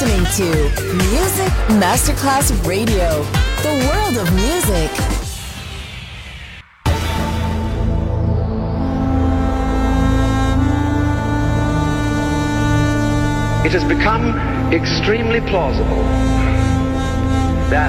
listening to Music Masterclass Radio, the world of music. It has become extremely plausible that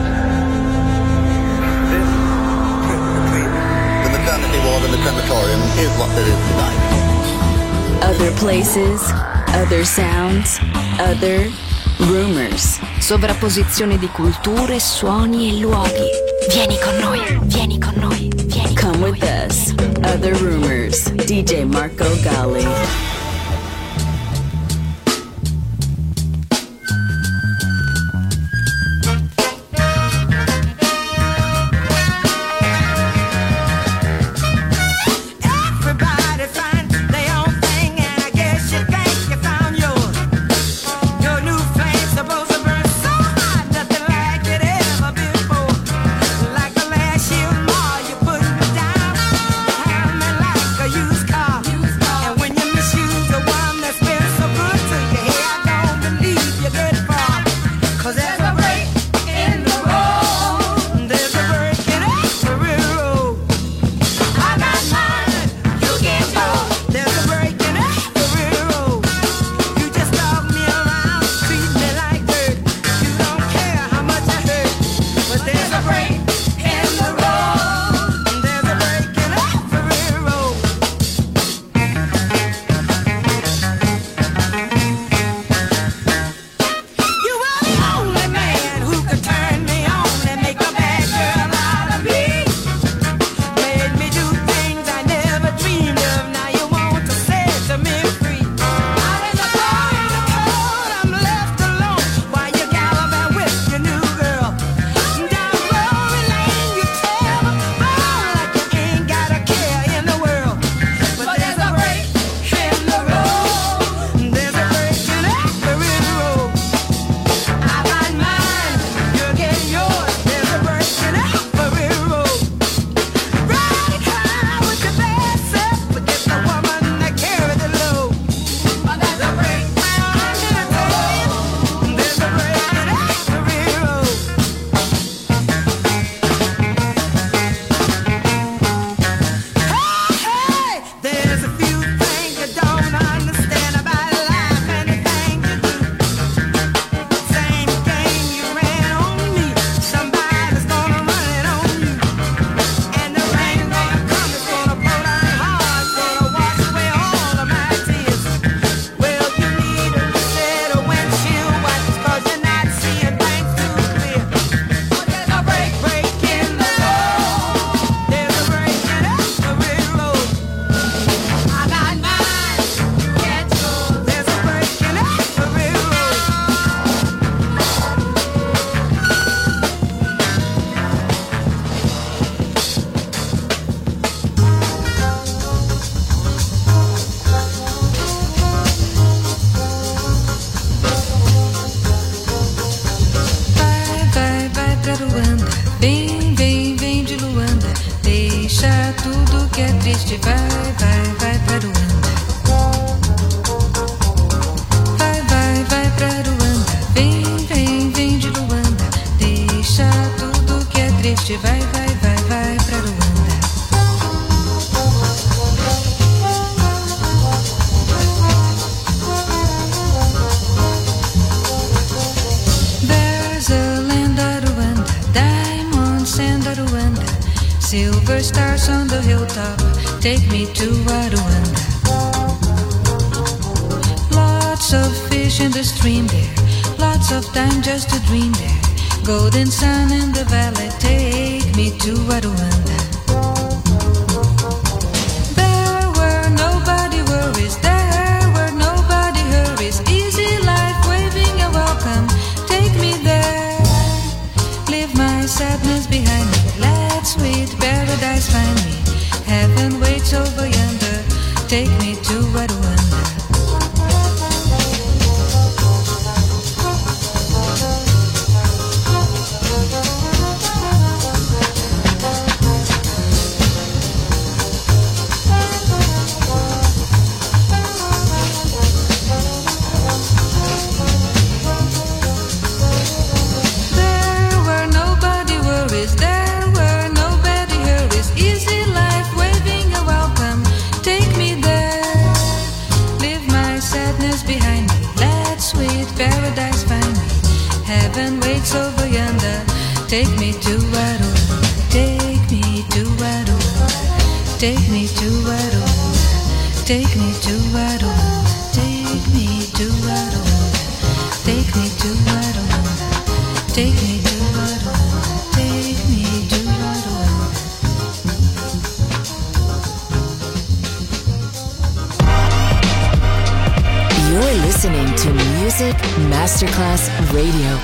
this trip between the maternity ward and the crematorium is what there is tonight. Other places, other sounds, other rumors. Sovrapposizione di culture, suoni e luoghi. Vieni con noi, vieni con noi, vieni con Come noi. with us. Other rumors. DJ Marco Gally. When you triste, vai, vai, vai pra Ruanda. Vai, vai, vai pra Ruanda. Vem, vem, vem de Luanda. Deixa tudo que é triste, vai, vai, vai, vai pra Ruanda. There's a land of Rwanda, diamonds and Rwanda, silver stars on the hilltop, take me to Rwanda. Lots of fish in the stream there, lots of time just to dream there. Golden sun in the valley, take me to Rwanda. There were nobody worries, there were nobody hurries. Easy life, waving a welcome, take me there. Leave my sadness behind me, let sweet paradise find me. Heaven waits over yonder, take me to Rwanda. Take me to Wado, take me to Wado, take me to Wado, take me to Wado, take me to Wado, take me to Wado, take me to Wado, take me to Wado. You're listening to Music Masterclass Radio.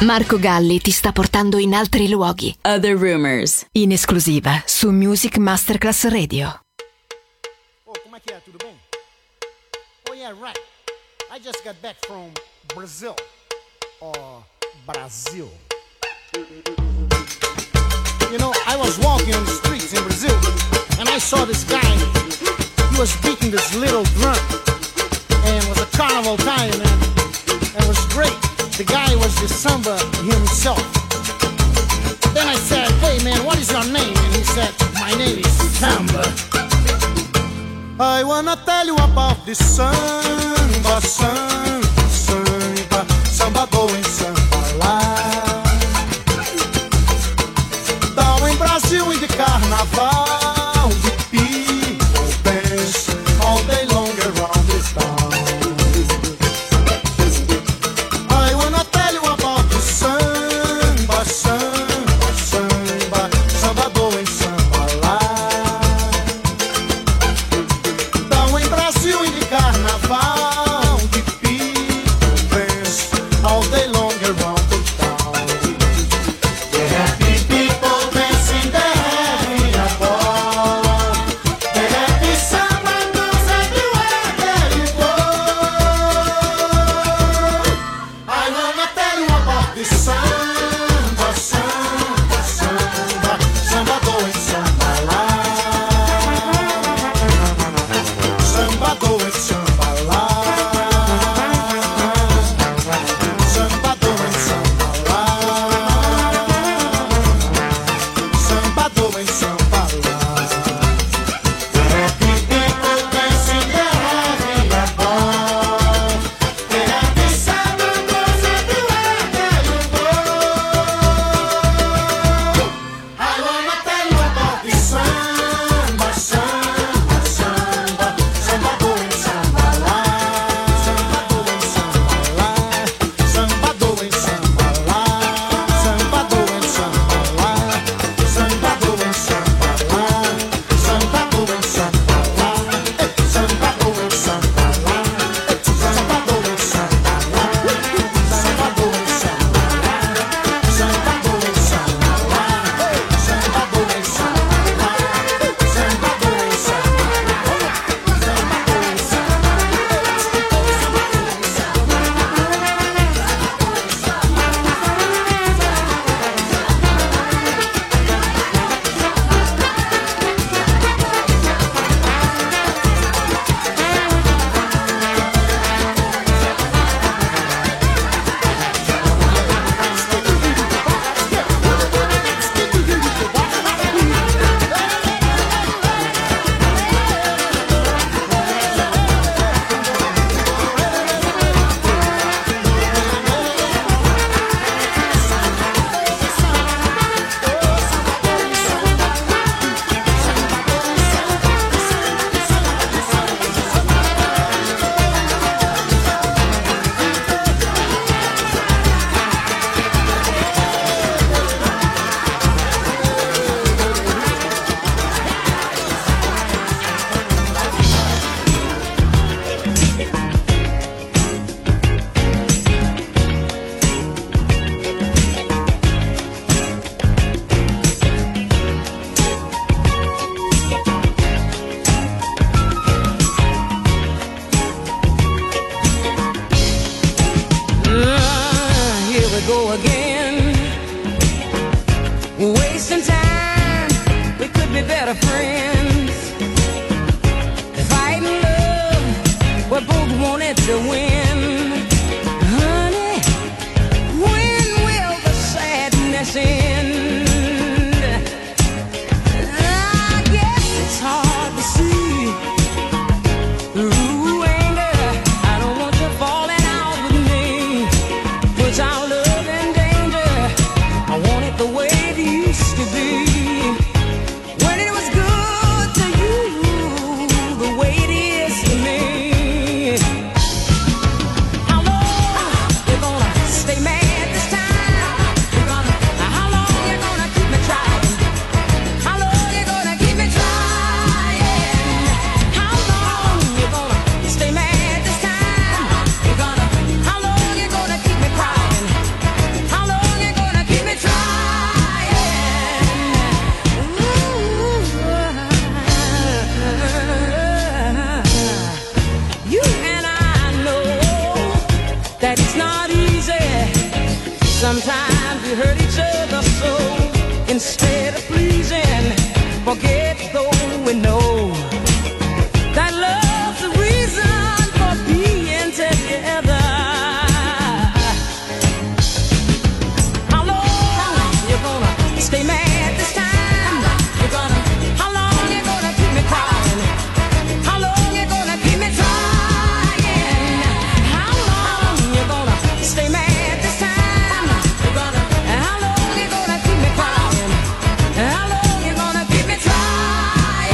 Marco Galli ti sta portando in altri luoghi. Other Rumors. In esclusiva su Music Masterclass Radio. Oh, como é que é? Tudo bem? Oh, yeah, right. I just got back from Brazil. Or Brazil. You know, I was walking on the streets in Brazil, and I saw this guy. He was beating this little drum, and it was a carnival time, man. And it was great. The guy was the samba himself. Then I said, hey man, what is your name? And he said, my name is Samba. I wanna tell you about this samba, samba, samba, samba going samba lá. Down in Brazil in the carnaval, the people dance all day long around this town. forget, though we know that love's the reason for being together. How long you gonna stay mad this time? How long you gonna keep me crying? How long you gonna keep me trying? How long you gonna stay mad this time? How long you gonna keep me crying? How long you gonna keep me trying?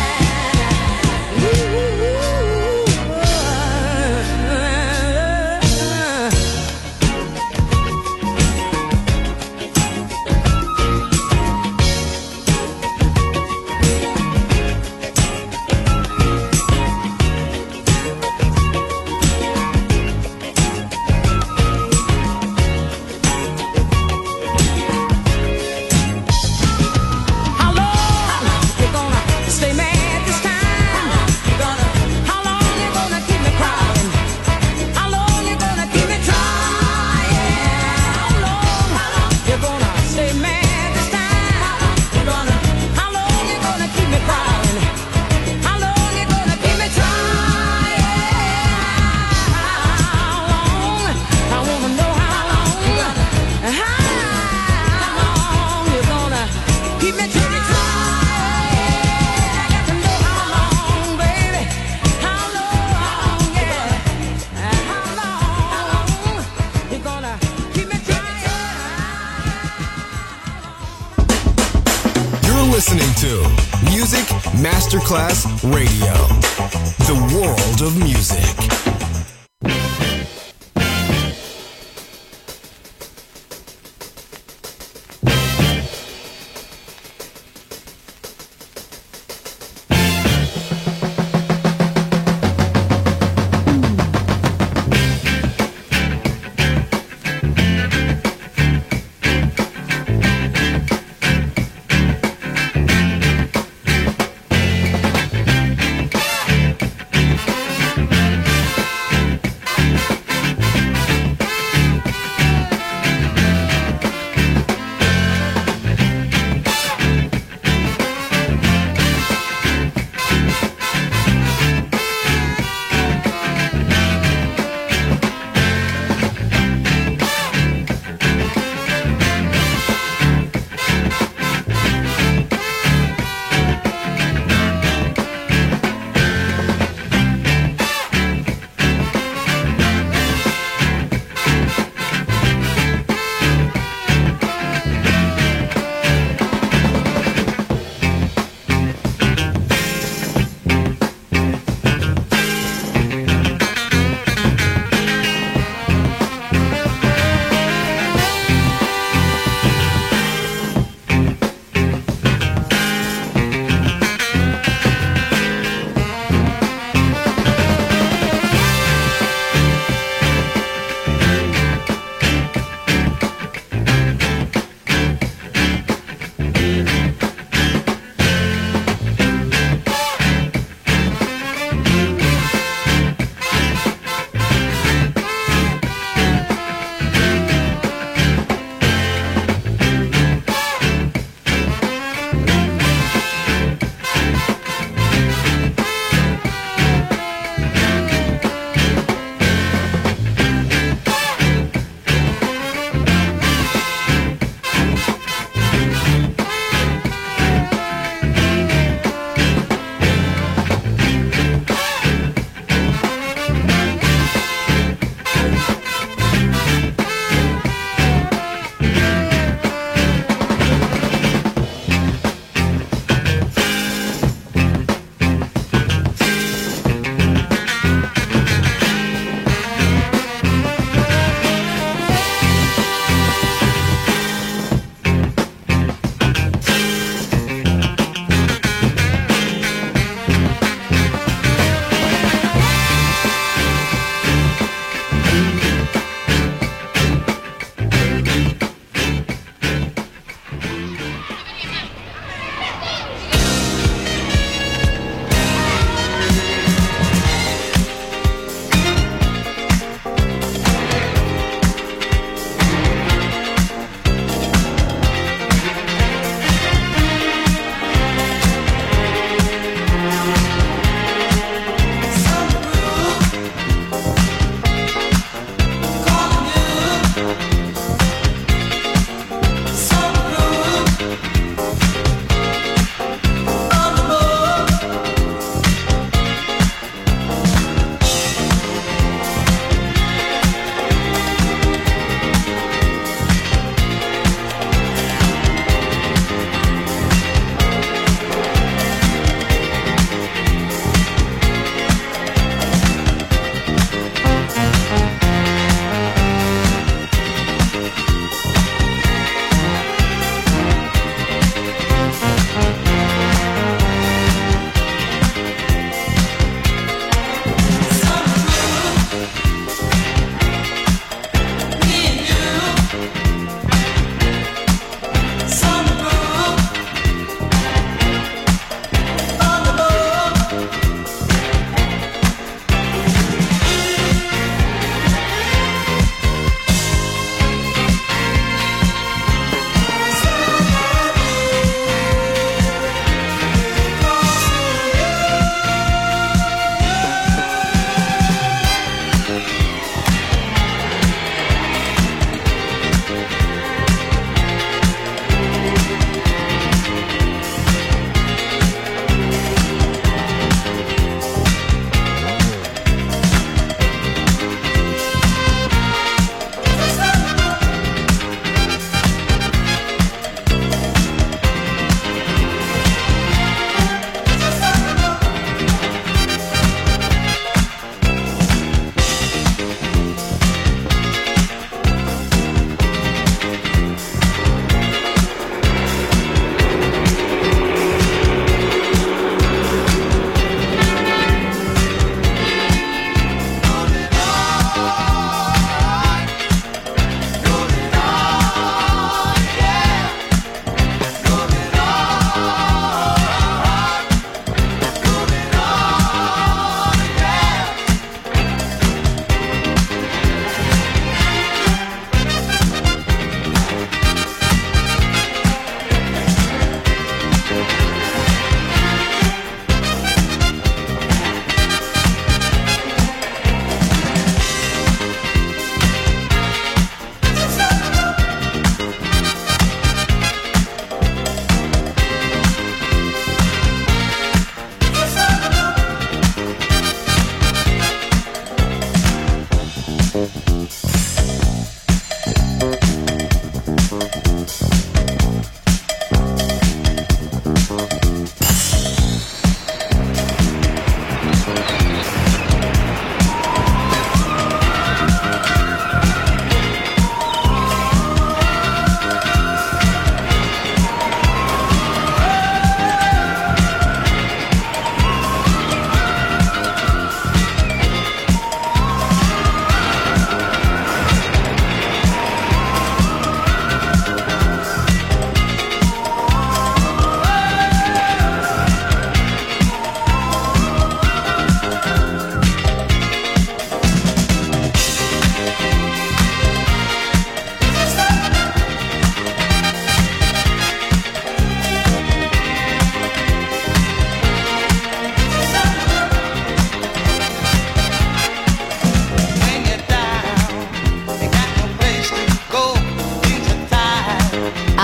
How long you gonna stay mad this time? How long you gonna keep me crying? How long you gonna keep me trying? How long you gonna stay mad this time? How long you gonna keep me crying? How long you gonna keep me trying? How long? I wanna know how long. How long you gonna keep me trying? I got to know how long, baby. How long, yeah. How long you gonna keep me trying? You're listening to Music Masterclass Radio, the world of music.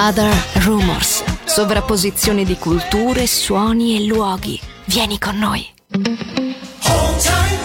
Other Rumors. Sovrapposizione di culture, suoni e luoghi. Vieni con noi. Hold tight.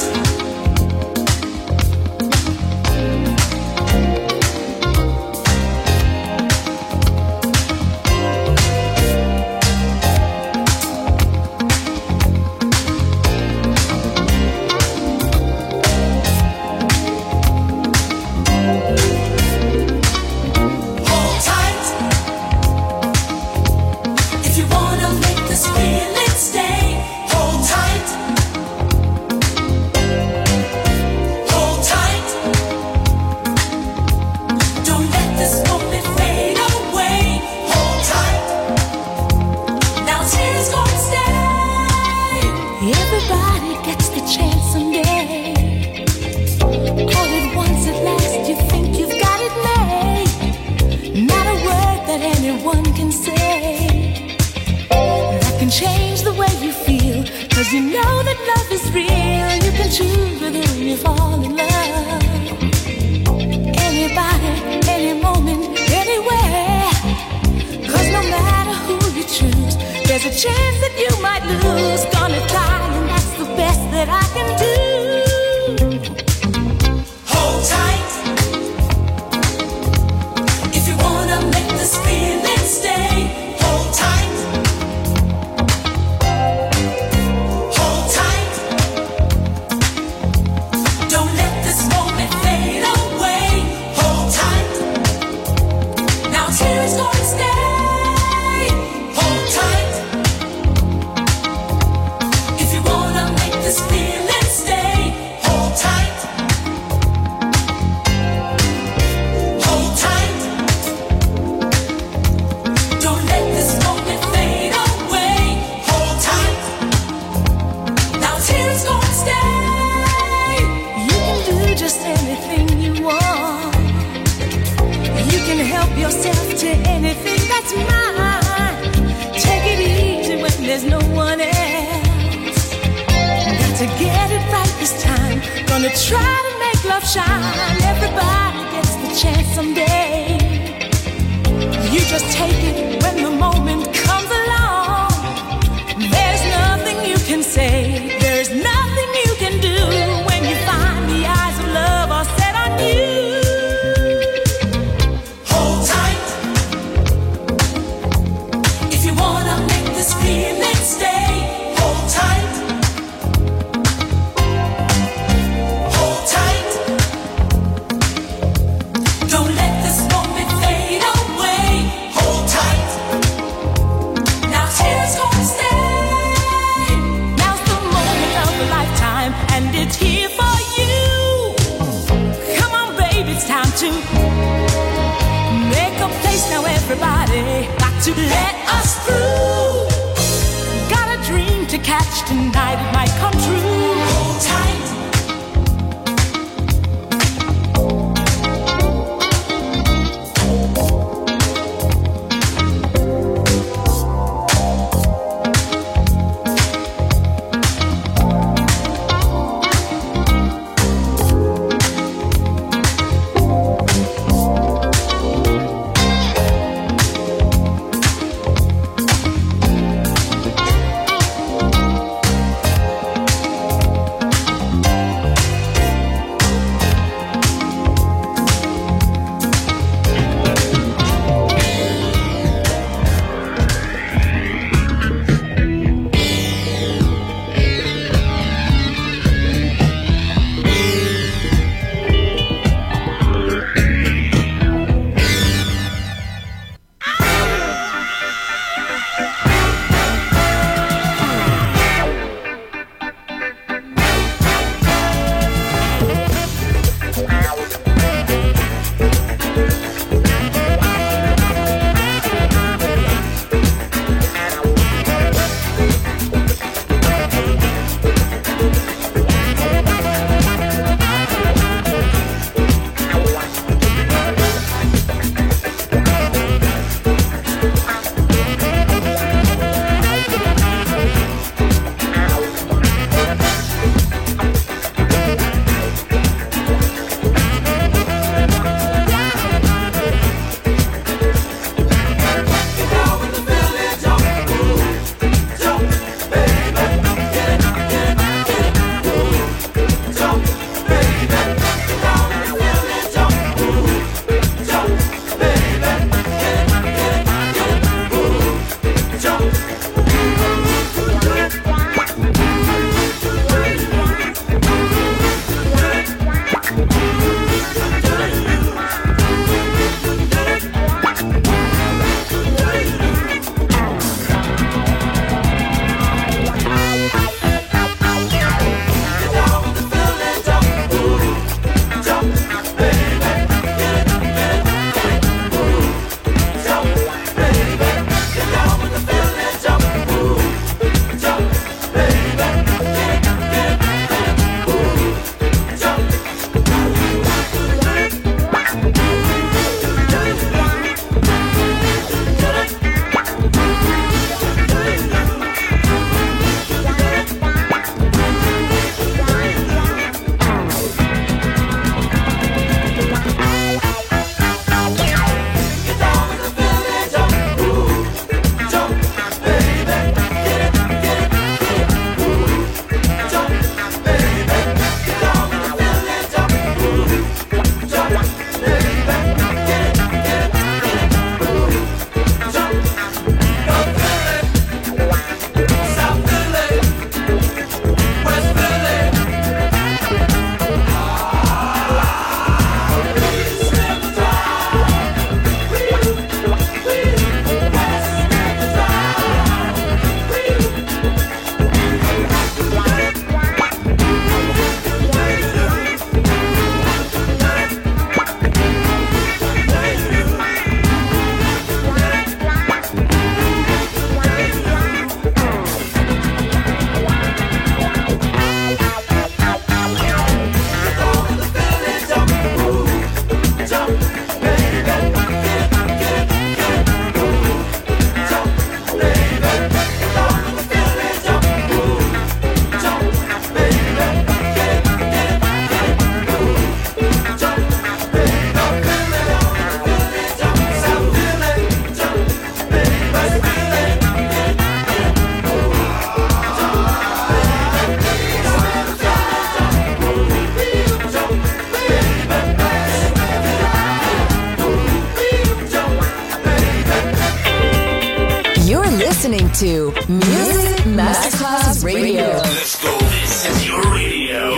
listening to Music Masterclass Radio. Let's go. This is your radio.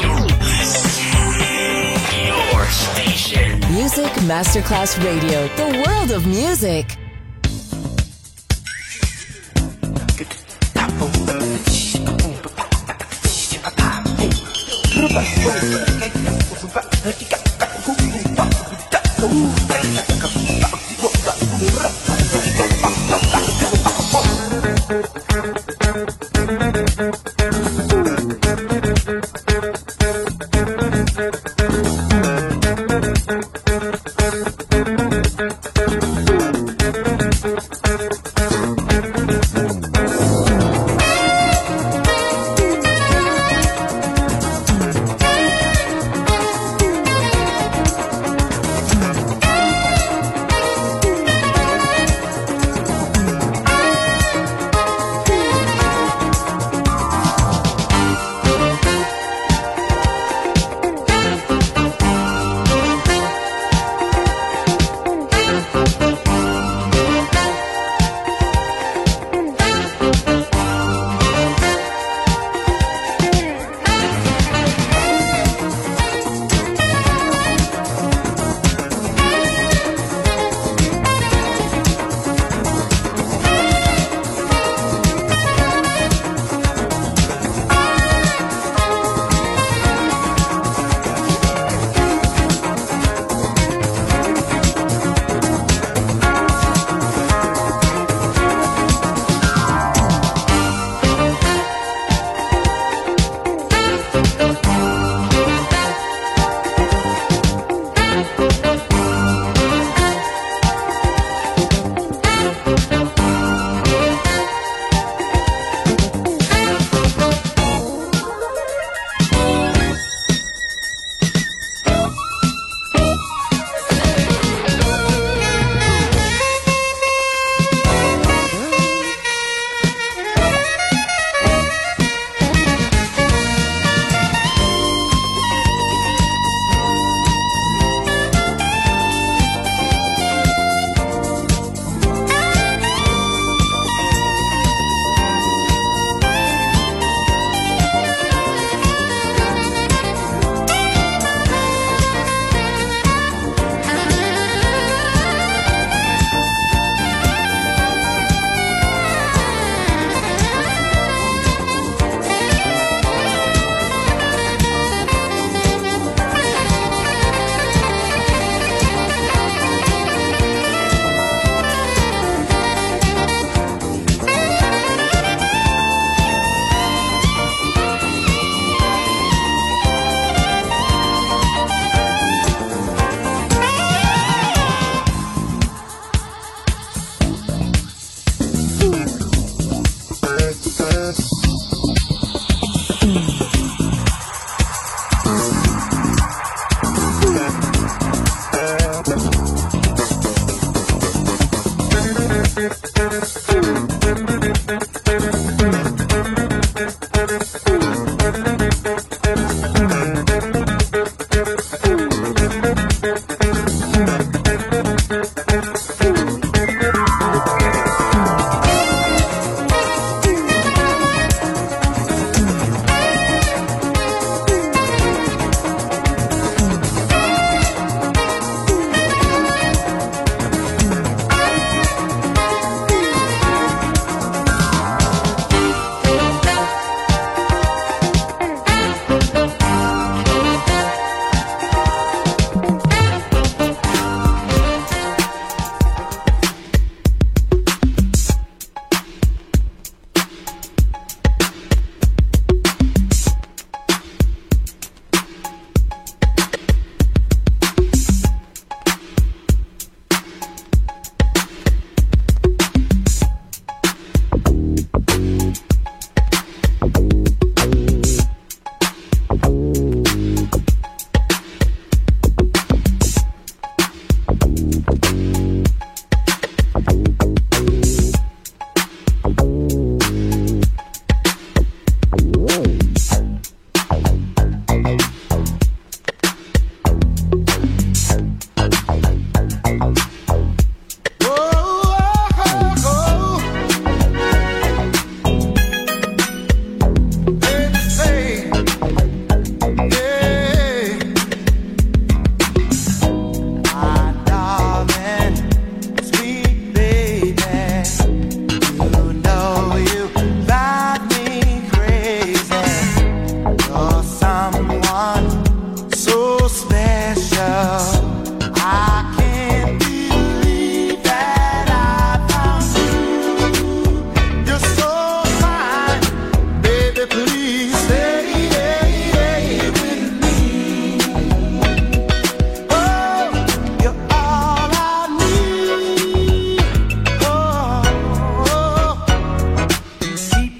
Your station. Music Masterclass Radio. The world of music.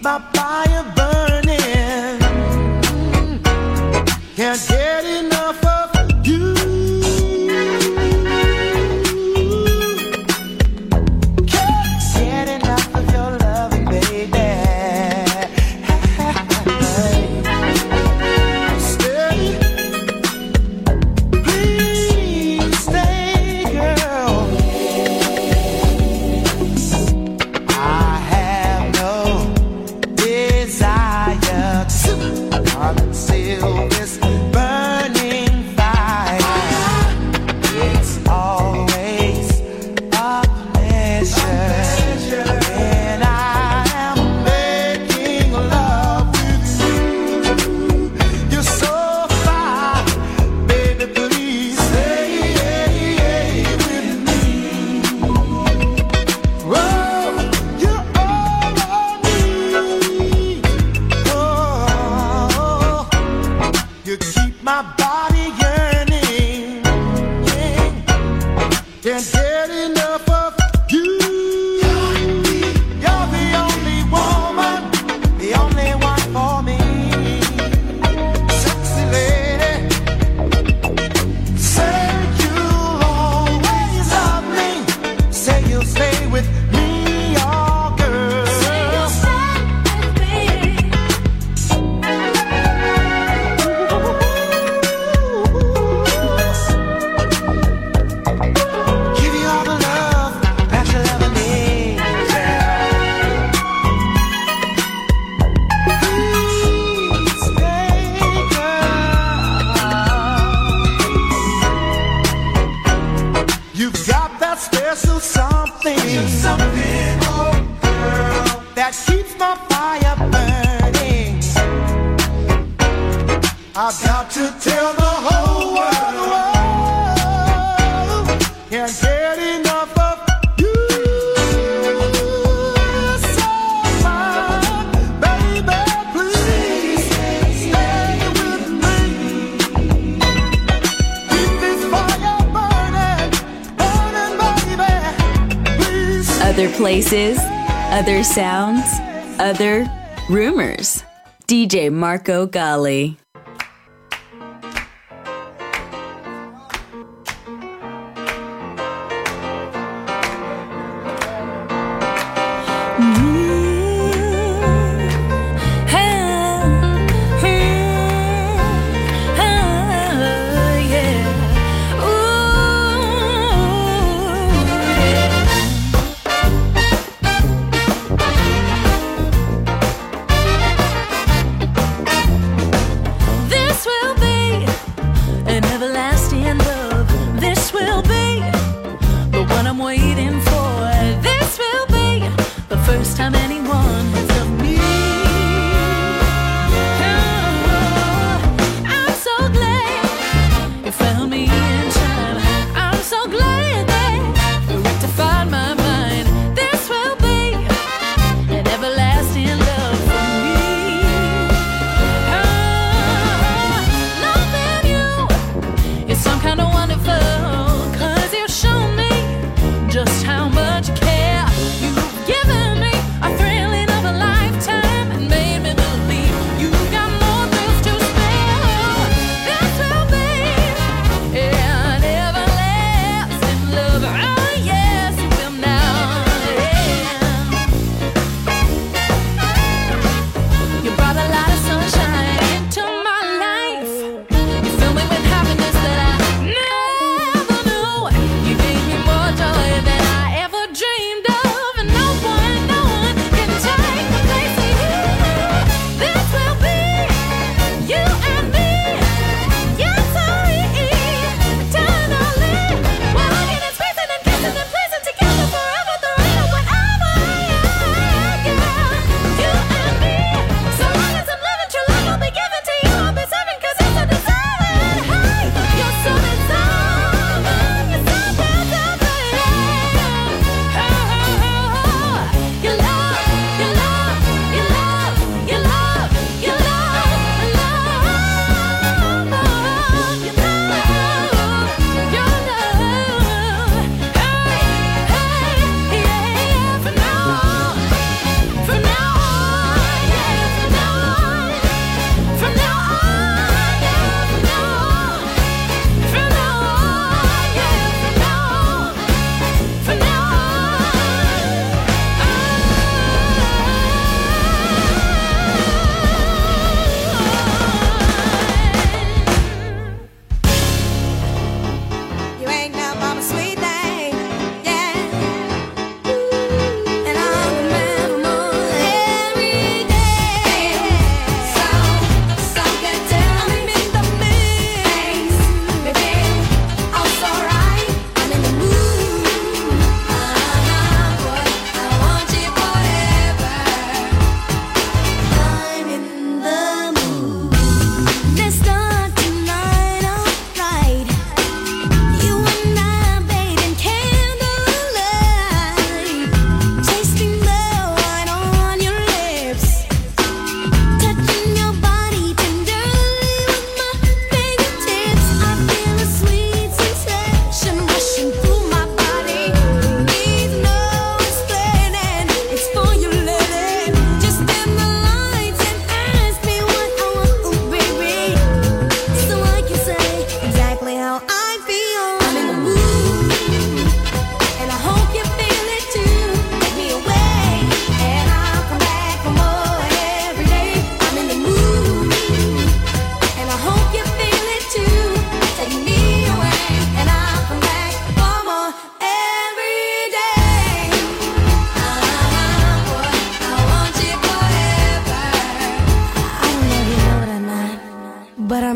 my fire burning. Can't get enough of you. Can't get enough of your loving, baby. Stay, please stay, girl. I have no desire to conceal this burning fire. It's always a pleasure when I am making love with you. You're so fine, baby, please stay with me. Whoa, you're all I need. Oh, you keep my body yearning. Can't get enough of you. You're the only woman, the only one for me. Sexy lady, say you'll always love me. Say you'll stay with me, oh girl. Say you'll stay with me. Give you all the love that you'll ever need, girl. Please stay, girl. You've got that special something, oh girl, that keeps my fire burning. I've got to tell the whole world, can't get enough of you. So fine, baby, please stay with me. Keep this fire burning, burning, baby. Please. Other places, other sounds, other rumors. DJ Marco Gally.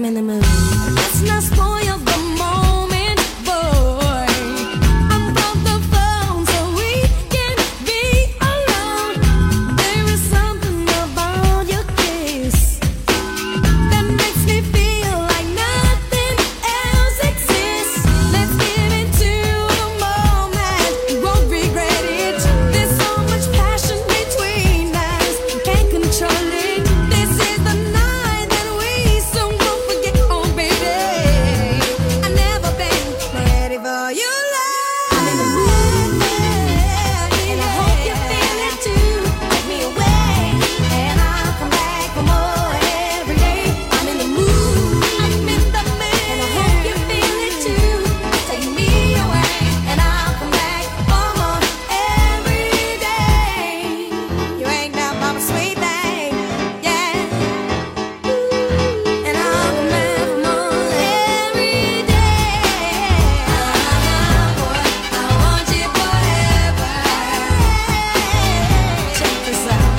in the mood. Let's not spoil the moment, boy. I brought the phone so we can be alone. There is something about your kiss that makes me feel like nothing else exists. Let's get into the moment, you won't regret it. There's so much passion between us, you can't control it. This is the night that we soon won't forget. Oh baby, I never been ready for your love. I'm in the mood, and I hope you feel it too. Take me away, and I'll come back for more every day. I'm in the mood, I'm in the mood, and I hope you feel it too. Take me away, and I'll come back for more every day. You ain't that mama sweet thing, yeah. And I'll come back for more every day. Boy, I want you forever. Check this out.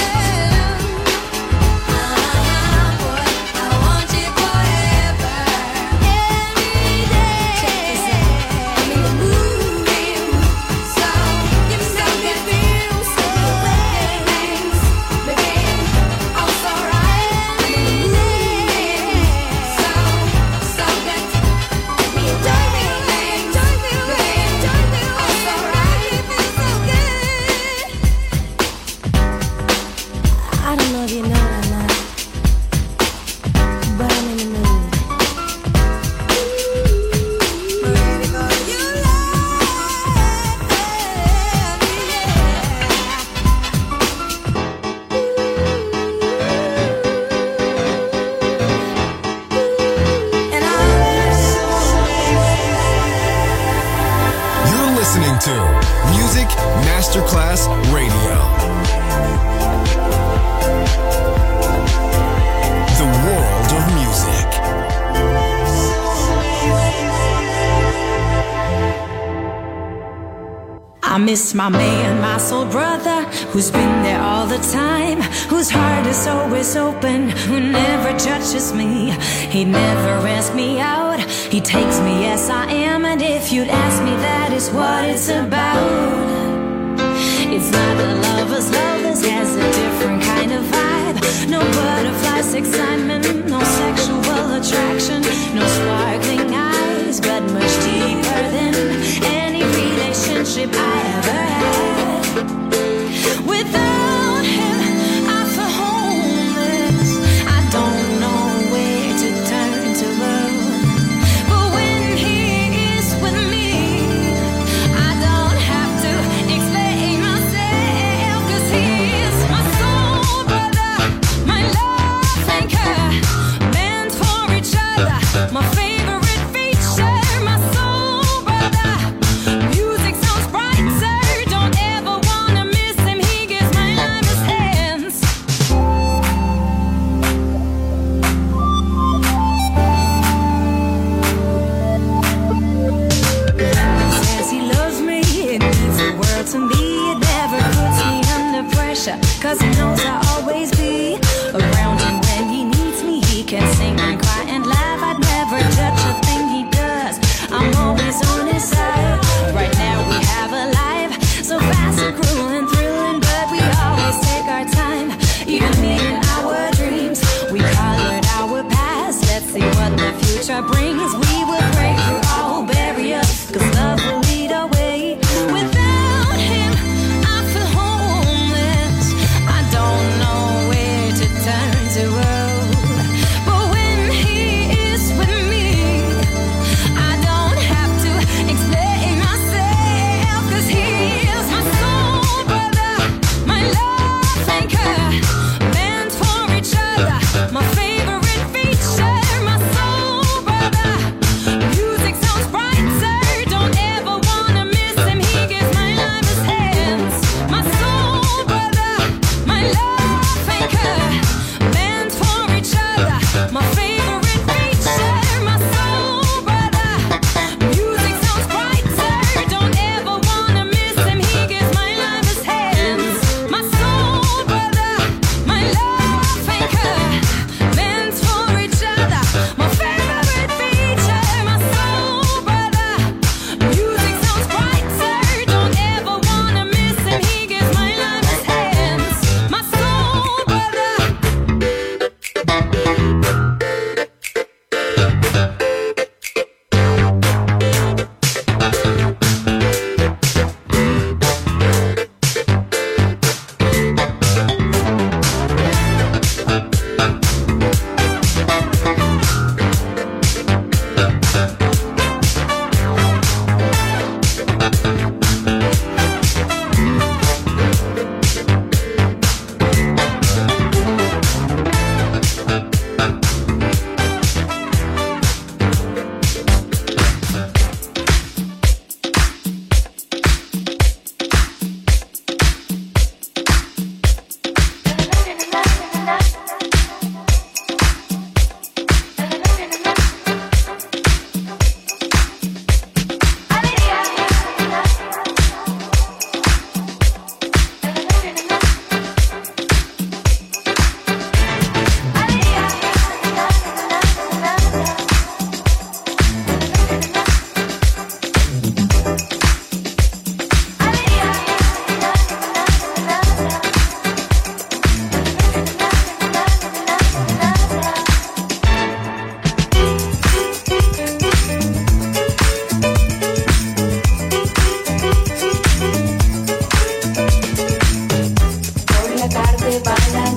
Boy, I want you forever. Every day. Check this out. I'm in the mood, so you know me feel so good. Baby, I'm so right. I'm in the mood, so good. Me enjoy me, baby. I'm so right. It feels so good. I don't know if you know it or not, but I'm in the mood. Ready for your love, yeah. And You're listening to Music Masterclass Radio. The world of music. I miss my man, my soul brother, who's been there all the time, whose heart is always open, who never judges me. He never asks me out, he takes me as I am, and if you'd ask me, that is what it's about. It's not a lover's love, this has a different kind of vibe. No butterflies, excitement, no sexual attraction, no sparkling eyes, but much deeper than any relationship I ever had. Without him, I feel homeless. I don't know where to turn to run. But when he is with me, I don't have to explain myself, 'cause he is my soul brother, my love anchor, meant for each other, my favorite feature, my soul brother. Music sounds brighter, don't ever wanna miss him, he gives my life his hands. Says he loves me, it means the world to me. It never puts me under pressure, 'cause he knows I'll always be around him when he needs me. He can sing and cry and laugh, I'd never judge a thing he does. I'm always on his side. Right now we have a life so fast and cruel and thrilling, but we always take our time, even me in our dreams. We colored our past, let's see what the future brings. We will break through all barriers, 'cause love will lead our way. Without him, I feel homeless. I don't know where to turn to. But when he is with me, I don't have to explain myself, 'cause he is my soul brother, my love anchor, meant for each other, my favorite feature, my soul brother. tarde va la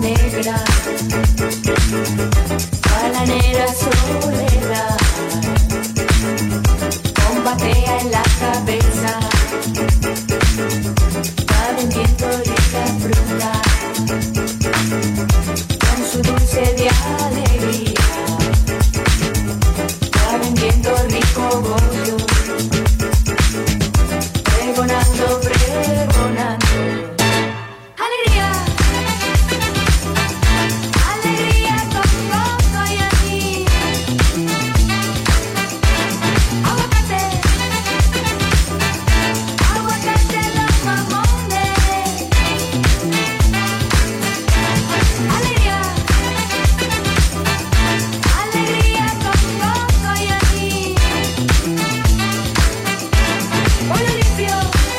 negra soledad, combatea en la cabeza, va vendiendo rica fruta, con su dulce de alegría, va vendiendo rico bollo, pregonando, pregonando. Alegría, alegría con coco y anís, aguacate, aguacate los mamones. Alegría, alegría con coco y anís, pollo limpio.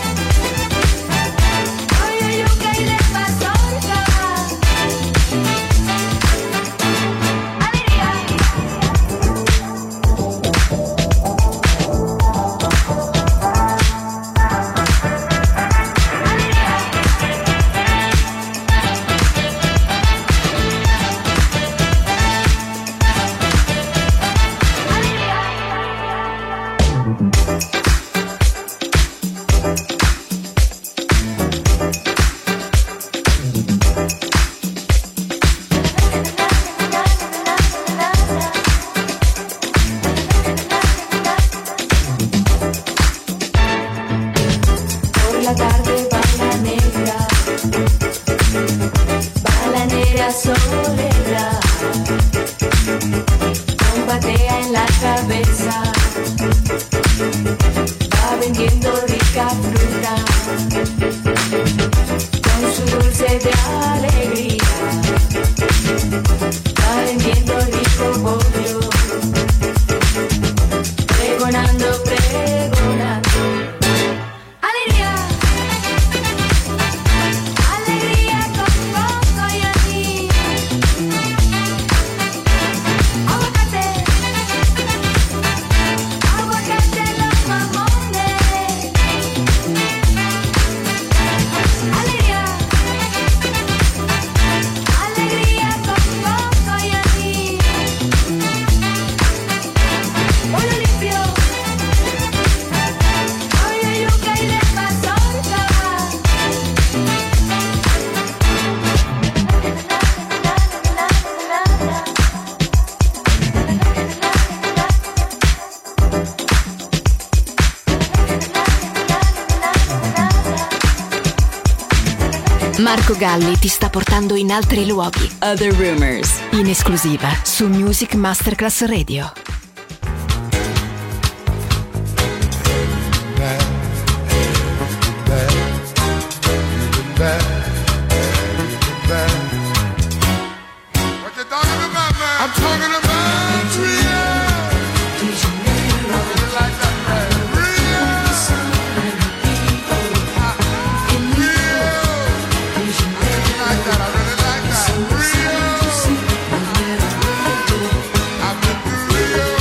Soledad, combatea en la cabeza, va vendiendo rica fruta, con su dulce de alegría, va vendiendo rico bollo, pregonando, pregonando. Alegría, alegría con coco y anís, aguacate, aguacate los mamones. Alegría, alegría con coco y anís, pollo limpio, pollo yuca y de mazorca. Marco Galli ti sta portando in altri luoghi. Other Rumors, in esclusiva su Music Masterclass Radio. I'm talking about Trio. Like that, Rio. Like that, I really like that. Rio. I've been to Rio.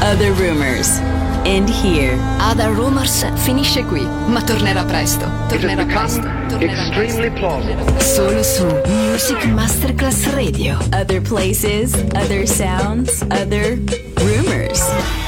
Other Rumors. End here. Other Rumors finisce qui, ma tornerà presto. It has become extremely plausible. Solo su Music Masterclass Radio. Other places, other sounds, other rumors.